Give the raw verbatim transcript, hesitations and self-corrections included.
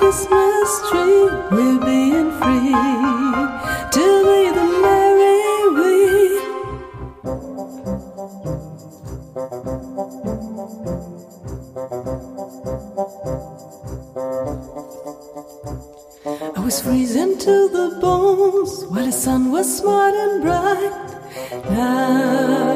Christmas tree, we're being free to be the merry we. I was freezing to the bones while the sun was smart and bright. Now